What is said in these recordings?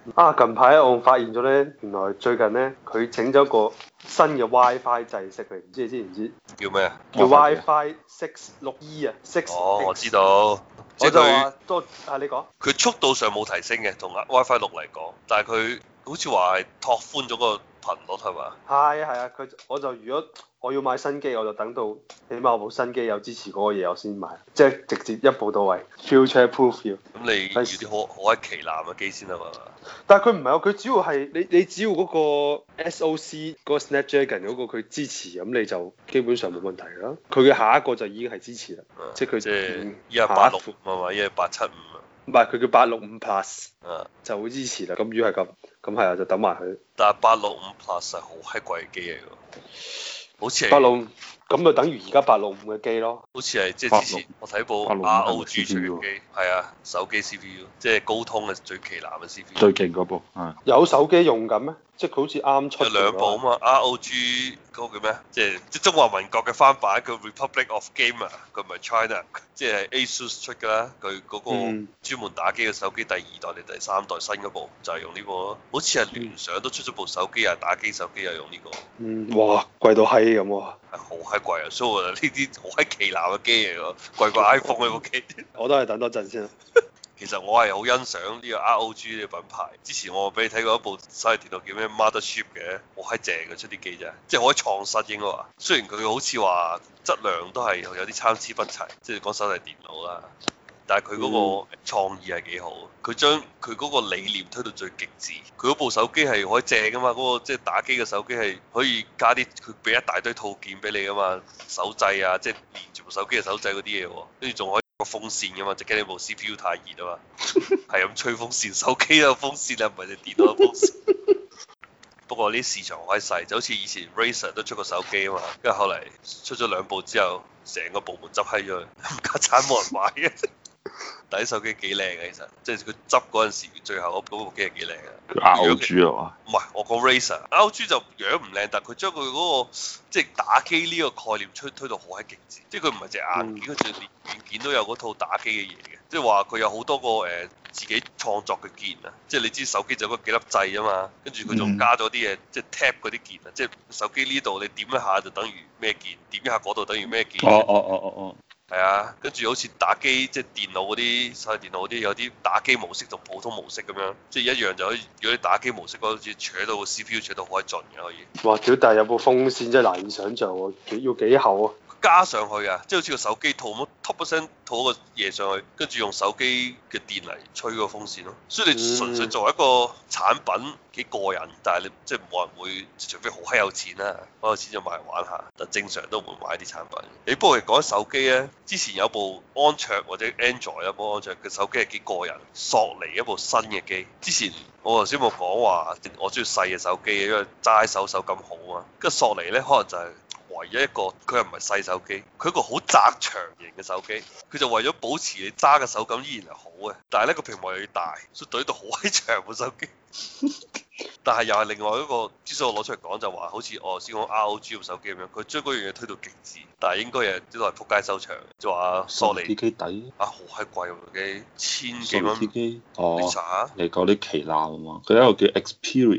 啊！近排我發現咗咧，原來最近咧佢整咗個新嘅 WiFi 制式嚟，唔知你知唔知？ 叫咩啊？ 叫 WiFi 6E 啊，6X。 哦，我知道，即我就係佢話多啊，你講。 佢速度上冇提升嘅，同 WiFi 6嚟講，但係佢好似話係拓寬咗個頻率係嘛？ 係啊係啊，我就如果我要買新機，我就等到起碼我部新機有支持嗰個嘢，我先買，即係直接一步到位，future proof 要。 咁你要啲好閪旗艦嘅機先得嘛？ 但係佢唔係喎，佢主要係你只要嗰個 SOC 嗰個 Snapdragon 嗰個佢支持，咁你就基本上冇問題啦。佢嘅下一個就已經係支持啦，即係佢即係依家86係嘛？依家875啊？ 唔係佢叫865 Plus 啊， 就會支持啦。咁如果係咁，咁係啊，就等埋佢。 但係865 Plus 係好閪貴嘅機嚟㗎，好似係 865咁就等於而家865嘅機咯。 好似係即係之前我睇部 865 ROG 出嘅機，係啊，手機 CPU 即係高通嘅最旗艦嘅 CPU。 最勁嗰部係有手機用緊咩？即係佢好似啱出有兩部啊嘛，ROG 嗰個叫咩？即係中華民國嘅翻版，叫 Republic of Gamer，佢唔係 China，即係 ASUS 出㗎啦。佢嗰個專門打機嘅手機第2代定第3代新嗰部就係用呢個咯。好似係聯想都出咗部手機啊，打機手機又用呢個。 哇，貴到閪咁喎！ 係好閪貴啊！所以呢啲好閪旗艦嘅機嚟㗎，貴過 iPhone 呢部機。 我都係等多陣先。 其實我係好欣賞呢個 ROG 呢個品牌。之前我俾你睇過一部手提電腦叫咩 Mothership 嘅，好閪正嘅出啲機啫，即係好閪創新應該話。雖然佢好似話質量都係有啲參差不齊，即係講手提電腦啦，但係佢嗰個創意係幾好。佢將佢嗰個理念推到最極致。佢嗰部手機係可以正㗎嘛，嗰個即係打機嘅手機係可以加啲，佢俾一大堆套件俾你㗎嘛，手掣啊，即係連住部手機嘅手掣嗰啲嘢喎，跟住仲可以個風扇㗎嘛，就驚你部 CPU 太熱啊嘛，係咁吹風扇，手機有風扇啊，唔係你電腦有風扇。不過呢市場好閪細，就好似以前 Razer 都出過手機啊嘛，跟住後嚟出咗2部之後，成個部門執閪咗佢，唔家產冇人買嘅。但啲手機幾靚嘅，其實即係佢執嗰陣時，最後嗰部機係幾靚嘅。 ROG 啊嘛？ 唔係，我講 Razer，ROG 就樣唔靚，但係佢將佢嗰個即係打機呢個概念推到好閪極致，即係佢唔係隻硬件，佢就連軟件都有嗰套打機嘅嘢嘅，即係話佢有好多個自己創作嘅鍵啊，即係你知手機就嗰幾粒掣啊嘛，跟住佢仲加咗啲嘢，即係 tap 嗰啲鍵啊，即係手機呢度你點一下就等於咩鍵，點一下嗰度等於咩鍵。 哦。 係啊，跟住好似打機即係電腦嗰啲手提電腦嗰啲有啲打機模式同普通模式咁樣，即係一樣就可以。如果你打機模式嗰好似扯到個 CPU 扯到好閪盡嘅可以。 哇！屌，但係有部風扇真係難以想像喎，要幾厚啊？ 加上去啊，即係好似個手機套咁，top 一聲套個嘢上去，跟住用手機嘅電嚟吹個風扇咯。所以你純粹作為一個產品幾過癮，但係你即係冇人會，除非好閪有錢啦，好有錢就買嚟玩下。但正常都唔會買啲產品。你不過講手機咧，之前有部安卓或者 Android 有部安卓嘅手機係幾過癮，索尼一部新嘅機。之前我頭先冇講話，我中意細嘅手機，因為揸手感好啊。跟住索尼咧，可能就係唯一一個，佢又唔係細手機，佢一個好窄長型嘅手機，佢就為咗保持你揸嘅手感依然係好嘅，但係咧個屏幕又要大，所以對到好閪長部手機。但係又係另外一個，之所以我攞出嚟講就話，好似我先講 ROG 部手機咁樣，佢將嗰樣嘢推到極致，但係應該係都係撲街收場，就話索尼啲機抵啊，好閪貴喎部機，1000幾蚊。 機你查下， 你講啲旗艦啊嘛，佢有一個叫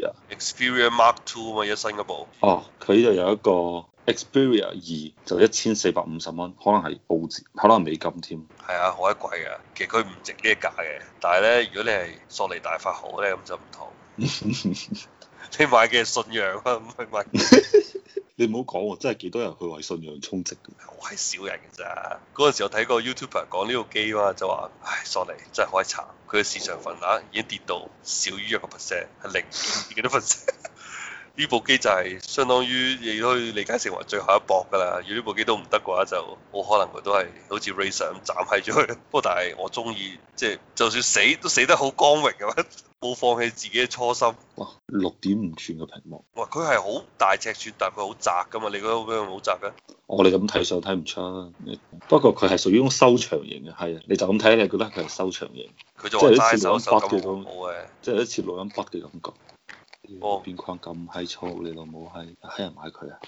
Xperia Mark II 啊嘛，一新嗰部。 哦，佢就有一個 Xperia 2就1450蚊，可能係澳紙，可能係美金添。 係啊，好閪貴㗎，其實佢唔值呢個價嘅，但係咧，如果你係索尼大法好咧，咁就唔同。你買嘅信仰啊，唔係買。 你唔好講喎，真係幾多人去為信仰充值嘅。 好閪少人嘅咋。嗰陣時我睇過 YouTuber 講呢個機嘛，就話：唉，索尼真係好閪慘，佢嘅市場份額已經跌到少於1%，係0.幾多%。呢部機就係相當於你都可以理解成為最後一搏㗎啦。如果呢部機都唔得嘅話，就好可能佢都係好似 Razer 咁斬閪咗佢。不過但係我中意，即係就算死都死得好光榮嘅，冇放棄自己嘅初心。 哇！6.5寸嘅屏幕。 哇！佢係好大尺寸，但係佢好窄㗎嘛？你覺得咩好窄嘅？ 我哋咁睇相睇唔出啊。不過佢係屬於種收長型嘅，係啊，你就咁睇，你覺得佢係收長型。 佢就話齋手手感好嘅， 即係一似錄音筆嘅感覺。 哦， 邊框咁閪粗，你老母閪人買佢啊！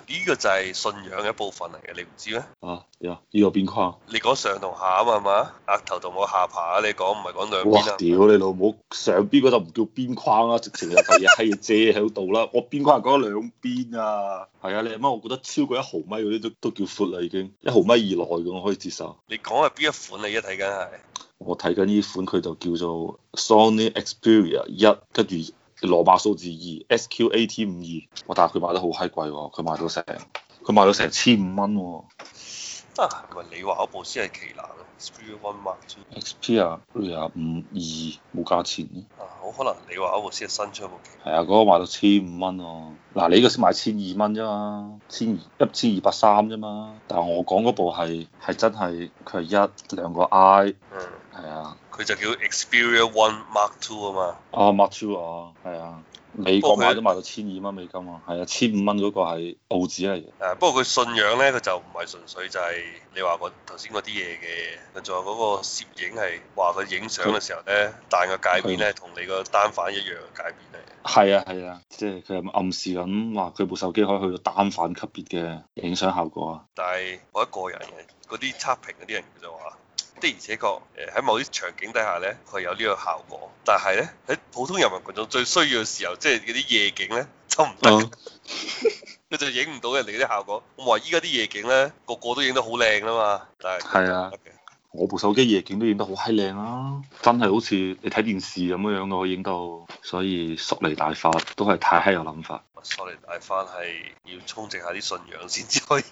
呢個就係信仰嘅一部分嚟嘅，你唔知咩？ 啊，呢個邊框？ 你講上同下啊嘛，係嘛？額頭同我下巴啊，你講唔係講兩哇！ 邊啊？ 屌你老母，上邊嗰就唔叫邊框啦，直情有嚿嘢閪嘢遮喺度啦。我邊框係講兩邊啊。係啊，你阿媽，我覺得超過1毫米嗰啲都叫闊啦，已經1毫米以內嘅我可以接受。 你講係邊一款你而家睇緊係？ 我睇緊呢款佢就叫做 Sony Xperia 1，跟住羅馬數字2 SQAT52。我但係佢賣得好閪貴喎，佢賣到成1500蚊喎。 啊，唔係你話嗰部先係旗艦咯，Xperia One Mark II。 Xperia 52冇價錢嘅。 啊，好可能你話嗰部先係新出部旗。 係啊，嗰個賣到1500蚊喎。嗱，你呢個先賣1200蚊啫嘛，1230啫嘛。但係我講嗰部係真係佢係2個 I。 嗯。 係啊。 佢就叫 Xperia One Mark II 啊嘛。 啊，Mark II啊，係啊。美國買都賣到1200蚊美金啊，係啊，1500蚊嗰個係澳紙嚟嘅。 誒，不過佢信仰咧，佢就唔係純粹就係你話個頭先嗰啲嘢嘅，佢仲有嗰個攝影係話佢影相嘅時候咧，彈個界面咧同你個單反一樣嘅界面嚟。 係啊，即係佢係暗示緊話佢部手機可以去到單反級別嘅影相效果啊。 但係我一個人嘅嗰啲測評嗰啲人就話。的而且確，喺某啲場景底下咧，佢有呢個效果。但係咧，喺普通人民群眾最需要嘅時候，即係嗰啲夜景咧，就唔得。佢就影唔到人哋嗰啲效果。我話依家啲夜景咧，個個都影得好靚啊嘛。但係係啊，我部手機夜景都影得好閪靚啊，真係好似你睇電視咁樣嘅，我影到。所以索尼大法都係太閪有諗法。 索尼大法係要充值下啲信仰先至可以。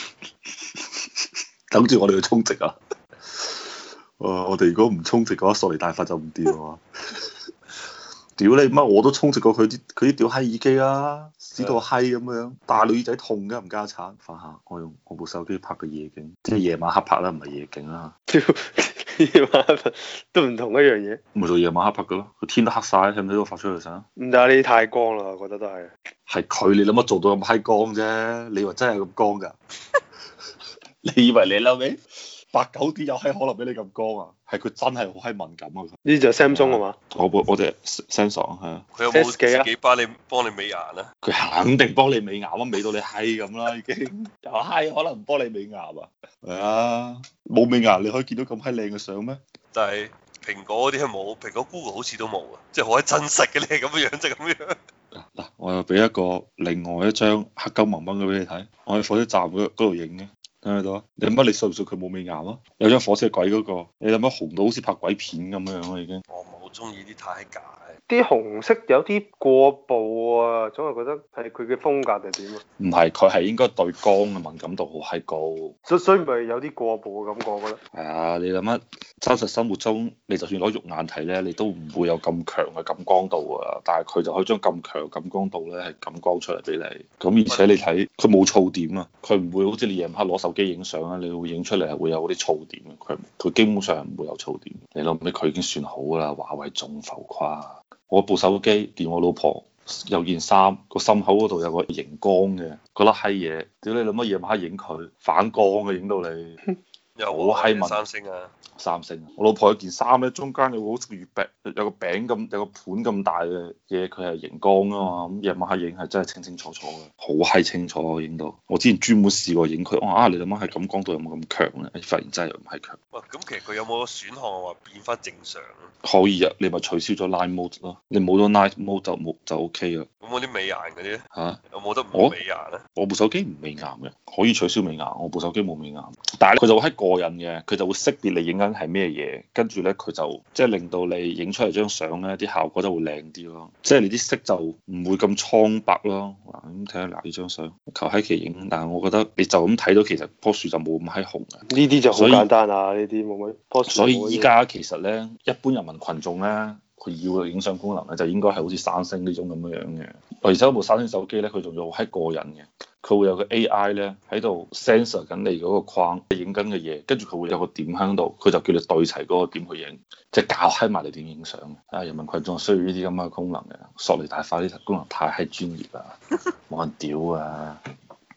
等住我哋去充值啊！我哋如果唔充值嘅話，索尼大法就唔掂啊！屌你媽！我都充值過佢啲屌閪耳機啊，屎到閪咁樣，大女仔痛㗎，唔加產。翻下我用我部手機拍嘅夜景，即係夜晚黑拍啦，唔係夜景啦。 屌，夜晚黑拍都唔同一樣嘢。 咪做夜晚黑拍嘅咯，佢天都黑晒，睇唔睇到發出嚟相？ 唔得，呢太光啦，我覺得都係。 係佢，你諗乜做到咁閪光啫？你話真係咁光㗎？你以為你嬲尾？8、9D 有閪可能俾你咁光啊？係佢真係好閪敏感啊！ 呢就 Samsung 係嘛？ 我隻 Samsung 係啊。 佢有冇自己幫你美顏啊？ 佢肯定幫你美顏啊，美到你閪咁啦已經。又閪可能唔幫你美顏啊？係啊，冇美顏你可以見到咁閪靚嘅相咩？ 但係蘋果嗰啲係冇，蘋果 Google 好似都冇啊，即係好閪真實嘅，你係咁嘅樣就咁樣。 嗱，我又俾另外一張黑金蒙蒙嘅俾你睇，我喺火車站嗰度影嘅。睇到啊！你諗乜？你信唔信佢冇美顏啊？有張火車軌嗰個，你諗乜紅到好似拍鬼片咁樣啊已經。 我唔係好中意啲太假。 啲紅色有啲過曝啊，總係覺得係佢嘅風格定係點啊？ 唔係，佢係應該對光嘅敏感度好閪高。 所以咪有啲過曝嘅感覺，我覺得。 係啊，你諗乜？真實生活中，你就算攞肉眼睇咧，你都唔會有咁強嘅感光度啊！但係佢就可以將咁強嘅感光度咧，係感光出嚟俾你。咁而且你睇，佢冇噪點啊！佢唔會好似你夜晚黑攞手機影相啊，你會影出嚟係會有嗰啲噪點嘅。佢基本上唔會有噪點。你諗咩？佢已經算好啦，華為仲浮誇。我部手機連我老婆有件衫，個心口嗰度有個熒光嘅嗰粒閪嘢，屌你諗乜夜晚黑影佢反光嘅，影到你又好閪文。 三星啊！ 三星，我老婆有件衫咧，中間有個好似月餅，有個餅咁，有個盤咁大嘅嘢，佢係熒光啊嘛，咁夜晚黑影係真係清清楚楚嘅，好閪清楚我影到。我之前專門試過影佢，你諗下係感光度有冇咁強咧？發現真係唔係強。 喂，咁其實佢有冇個選項話變翻正常啊？ 可以啊，你咪取消咗 Night Mode 咯，你冇咗 Night Mode 就 OK 啦。 咁嗰啲美顏嗰啲咧？ 嚇？ 有冇得唔美顏咧？ 我部手機唔美顏嘅，可以取消美顏。我部手機冇美顏，但係佢就會喺過癮嘅，佢就會識別你影緊係咩嘢，跟住咧佢就即係令到你影出嚟張相咧啲效果就會靚啲咯，即係你啲色就唔會咁蒼白咯。咁睇下嗱呢張相，求閪其影，但係我覺得你就咁睇到其實樖樹就冇咁閪紅嘅。 呢啲就好簡單啊，呢啲冇乜棵樹。 所以依家其實咧，一般人民群眾咧，佢要嘅影相功能咧，就應該係好似三星呢種咁樣樣嘅。而且嗰部三星手機咧，佢仲要好閪過癮嘅。佢會有個 AI 咧喺度 sensor 緊你嗰個框影緊嘅嘢，跟住佢會有個點喺度，佢就叫你對齊嗰個點去影，即係教閪埋你點影相嘅。啊，人民群眾需要呢啲咁嘅功能嘅，索尼大法呢啲功能太閪專業啦，冇人屌啊！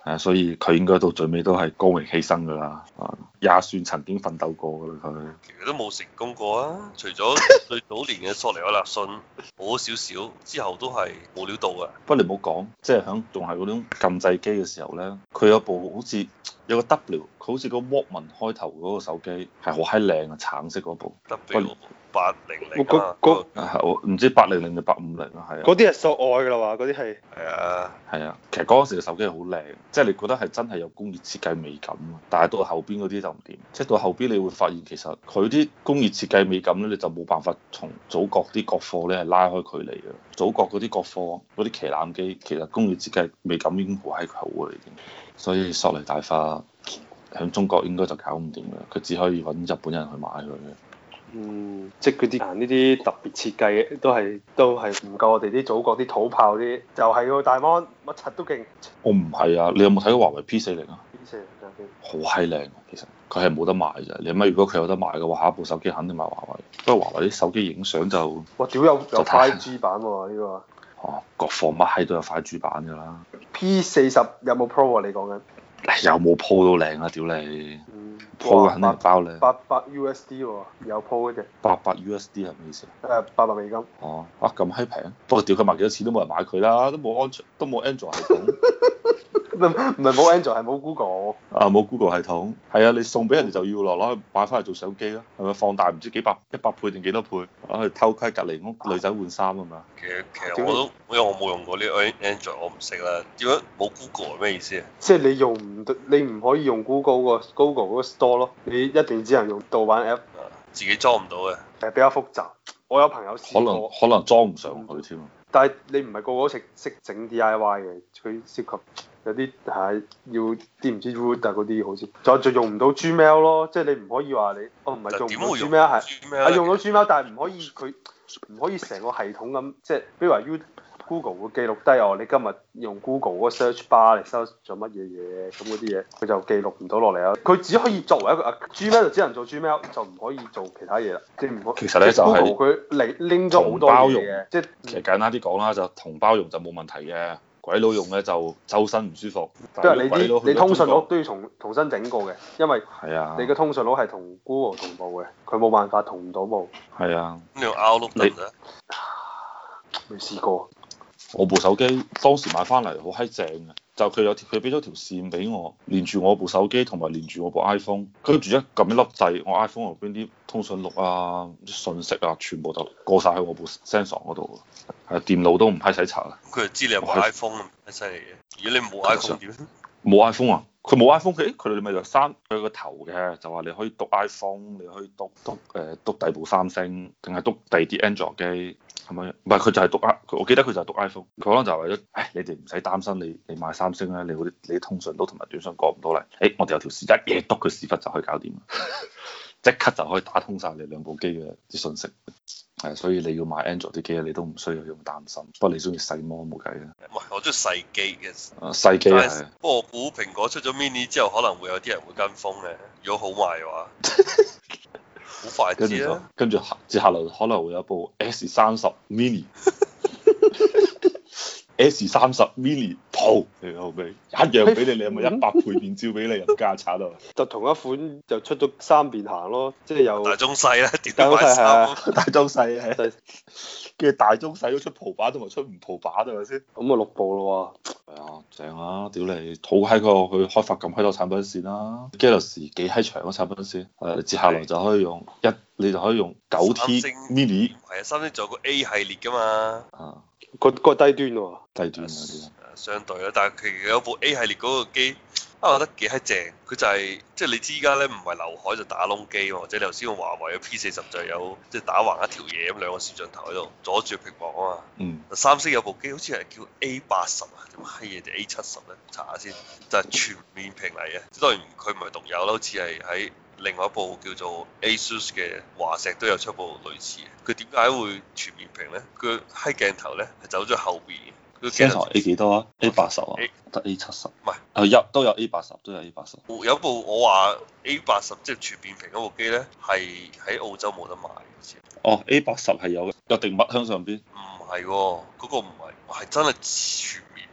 係啊，所以佢應該到最尾都係光榮犧牲㗎啦，也算曾經奮鬥過㗎啦佢。 其實都冇成功過啊，除咗最早年嘅索尼亞納遜好少少，之後都係冇料到嘅。 不過你唔好講，即係響仲係嗰種撳掣機嘅時候咧，佢有部好似有個 W，佢好似個 Walkman 開頭嗰個手機係好閪靚啊，橙色嗰部。 W800啊， 係我唔知800定850啊，係啊。 嗰啲係索愛㗎啦嘛，嗰啲係。 係啊， 係啊，其實嗰陣時嘅手機係好靚，即係你覺得係真係有工業設計美感啊。但係到後邊嗰啲就唔掂，即係到後邊你會發現其實佢啲工業設計美感咧，你就冇辦法從祖國啲國貨咧係拉開距離嘅。祖國嗰啲國貨嗰啲旗艦機，其實工業設計美感已經好閪好嘅已經。所以索尼大化喺中國應該就搞唔掂嘅，佢只可以揾日本人去買佢嘅。 即係佢啲呢啲特別設計嘅都係唔夠我哋啲祖國啲土炮啲，就係個大 mon 乜柒都勁。 我唔係啊，你有冇睇過華為 P40啊 ？P40手機好閪靚，其實佢係冇得賣咋。你諗如果佢有得賣嘅話，下一部手機肯定買華為。不過華為啲手機影相就哇屌有 5G 版喎呢個。 哦，國貨乜閪都有5G版㗎啦。 P40有冇 Pro 啊？你講緊？ 有冇 Pro 都靚啊！屌你，Pro 肯定係包靚。 800 USD 喎，有 Pro 嘅啫。 800 USD 係咩意思啊 ？800美金。 哦，啊咁閪平，不過屌佢賣幾多錢都冇人買佢啦，都冇安卓，都冇 Android 系統。 唔係冇 Android 係冇 Google。 啊冇 Google 系統，係啊，你送俾人哋就要攞去買翻嚟做相機啦，係咪放大唔知100倍定幾多倍，攞去偷窺隔離屋女仔換衫啊嘛。 其實我都因為我冇用過呢個 Android，我唔識啦。點解冇 Google 係咩意思啊？ 即係你用唔到，你唔可以用 Google 嗰個 Store 咯，你一定只能用盜版 App。 自己裝唔到嘅。 係比較複雜，我有朋友試過。 可能裝唔上去添。 但係你唔係個個都識整 DIY 嘅，佢涉及有啲係要啲唔知 root 啊嗰啲好似，就用唔到 Gmail 咯，即係你唔可以話你，唔係用唔到 Gmail 係用到 Gmail，但係唔可以佢唔可以成個系統咁，即係比如話 Google 會記錄低你今日用 Google 嗰個 search bar 嚟 search 咗乜嘢嘢，咁嗰啲嘢佢就記錄唔到落嚟啊。佢只可以作為一個Gmail 就只能做 Gmail，就唔可以做其他嘢啦。即係唔可以。 其實咧就係佢拎咗好多嘢嘅，即係其實簡單啲講啦，就同胞用就冇問題嘅，鬼佬用咧就周身唔舒服。 即係你通訊錄都要重新整過嘅，因為你嘅通訊錄係同 Google 同步嘅，佢冇辦法同唔到步。 係啊。 咁你用 Outlook 得唔得？ 未試過。 我部手機當時買翻嚟好閪正嘅，就佢俾咗條線俾我，連住我部手機同埋連住我部 iPhone，跟住一撳一粒掣，我 iPhone 入邊啲通訊錄啊、信息啊，全部就過晒喺我部 sensor 嗰度。係電腦都唔閪使查啊。 佢就知你有部 iPhone 咁犀利嘅。如果你冇 iPhone 點？ 冇 iPhone 啊？佢冇 iPhone，佢哋咪就刪佢個頭嘅，就話你可以篤 iPhone，你可以篤第二部三星，定係篤第二啲 Android 機。係咪？唔係佢就係讀我記得佢就係讀 iPhone。佢可能就係為咗，你哋唔使擔心，你買三星咧，你通訊都同埋短信過唔到嚟。我哋有條線一嘢篤佢屎忽就可以搞掂，即刻就可以打通晒你兩部機嘅啲信息。係，所以你要買 Android 啲機你都唔需要咁擔心。不過你中意細模冇計嘅。 唔係，我中意細機嘅。 細機係。 不過我估蘋果出咗 mini 之後，可能會有啲人會跟風嘅。如果好賣嘅話。好快知啦， 跟住接下來可能會有部 S30 mini，S30 mini Pro，你後尾一樣俾你有冇100倍變焦俾你入家產啊？ 就同一款就出咗三邊行咯，即係有大中細啦， 大中細係大中細係，跟住大中細都出葡版同埋出唔葡版係咪先？ 咁啊6部咯喎。 係啊，正啊！屌你，好閪過去開發咁閪多產品線啦，Galaxy 幾閪長嘅產品線，接下來就可以用你就可以用9T mini。 係啊，三星仲有個 A 系列㗎嘛。 啊， 個低端喎。 低端嗰啲。 相對啦，但係其實有部 A 系列嗰個機，我覺得幾閪正。佢就係即係你知依家咧唔係劉海就打窿機喎，或者你頭先用華為嘅 P40就有即係打橫一條嘢咁兩個攝像頭喺度阻住屏幕啊嘛。 嗯。 三星有部機好似係叫 A80啊，點閪嘢定 A70咧？查下先，就係全面屏嚟嘅。即當然佢唔係獨有啦，好似係喺另外一部叫做 ASUS 嘅華碩都有出部類似嘅。佢點解會全面屏咧？佢閪鏡頭咧係走咗後邊。 Samsung A 幾多啊？A80啊？得 A70。唔係，都有 A80，都有 A80。 有部我話 A80即係全面屏嗰部機咧，係喺澳洲冇得賣嘅。 哦，A80係有嘅，有定物喺上邊。 唔係喎，嗰個唔係，係真係全面屏嚟嘅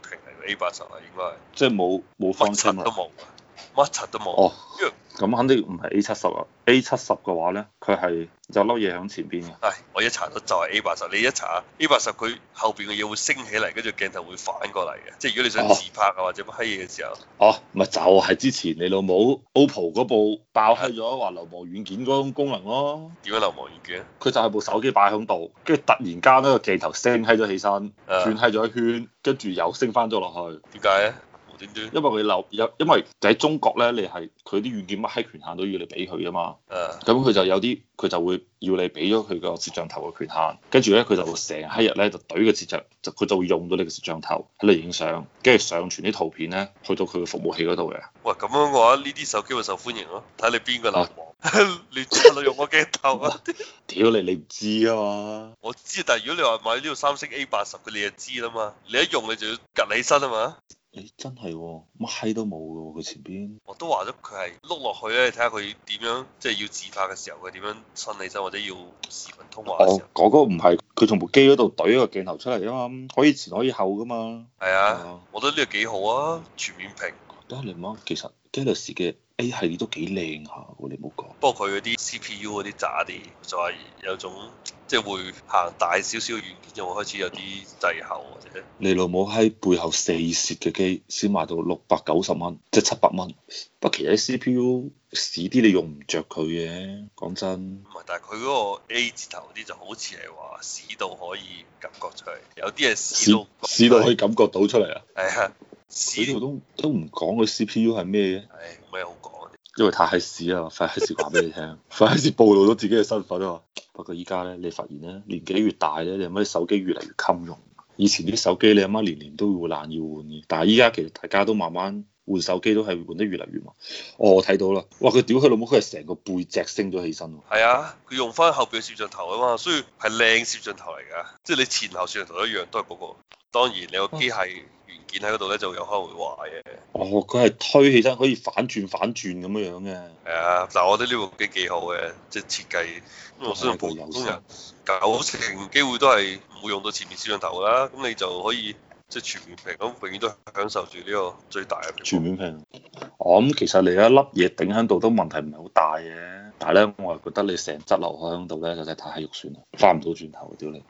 A80啊，應該係。 即係冇方乜柒都冇，乜柒都冇。 哦， 因為咁肯定唔係 A70啊，A70嘅話咧，佢係有粒嘢喺前邊嘅。 係，我一查到就係 A80，你一查 A80佢後邊嘅嘢會升起嚟，跟住鏡頭會反過嚟嘅。即係如果你想自拍啊或者乜閪嘢嘅時候， 哦，咪就係之前你老母 OPPO 嗰部爆閪咗話流亡軟件嗰種功能咯。 點樣流亡軟件？ 佢就係部手機擺喺度，跟住突然間呢個鏡頭升閪咗起身，轉閪咗一圈，跟住又升翻咗落去。 點解咧？無端端？ 因為佢因為喺中國咧，你係佢啲軟件乜閪權限都要你俾佢啊嘛。咁佢就有啲佢就會要你俾咗佢個攝像頭嘅權限，跟住咧佢就會成閪日咧就懟個攝像，佢就會用到你個攝像頭喺度影相，跟住上傳啲圖片咧去到佢嘅服務器嗰度嘅。 喂，咁樣嘅話，呢啲手機會受歡迎咯，睇你邊個流亡。你真係用我鏡頭啊！ 屌你唔知啊嘛！ 我知，但係如果你話買呢個三星 A80，佢你就知啦嘛。你一用你就要趌起身啊嘛。 你真係乜閪都冇嘅喎，佢前邊。 我都話咗佢係碌落去咧，睇下佢點樣，即係要自拍嘅時候佢點樣伸起身，或者要視頻通話嘅時候。 嗰個唔係佢從部機嗰度懟一個鏡頭出嚟啊嘛，可以前可以後噶嘛。 係啊，我覺得呢個幾好啊，全面屏。 但係你諗，其實 Galaxy 嘅 A 系列都幾靚下喎，你唔好講。 不過佢嗰啲 CPU 嗰啲渣啲，就係有種即係會行大少少嘅軟件，就會開始有啲滯後或者。 你老母喺背後四攝嘅機先賣到690蚊，即係700蚊。不過其實 CPU 屎啲，你用唔着佢嘅，講真。 唔係，但係佢嗰個 A 字頭嗰啲就好似係話屎到可以感覺出嚟，有啲係屎到可以感覺到出嚟啊！ 係啊。 呢度都唔講佢 CPU 係咩嘅， 唉，冇咩好講， 因為太閪屎啦，費閪事話俾你聽，費閪事暴露咗自己嘅身份啊！不過依家咧，你發現咧，年紀越大咧，你阿媽啲手機越嚟越襟用。以前啲手機你阿媽年年都會爛要換嘅，但係依家其實大家都慢慢換手機都係換得越嚟越慢。哦，我睇到啦，哇！佢屌佢老母，佢係成個背脊升咗起身喎。 係啊，佢用翻後邊嘅攝像頭啊嘛，所以係靚攝像頭嚟㗎，即係你前後攝像頭一樣都係嗰個。當然你個機械元件喺嗰度咧，就有可能會壞嘅。哦， 佢係推起身可以反轉咁樣樣嘅。 係啊，但係我覺得呢部機幾好嘅，即係設計。我相信普通人90%機會都係唔會用到前面攝像頭啦，咁你就可以即係全面屏咁，永遠都享受住呢個最大嘅全面屏。我諗其實你一粒嘢頂喺度都問題唔係好大嘅，但係咧我係覺得你成質留喺度咧就真係太肉酸啦，翻唔到轉頭，屌你！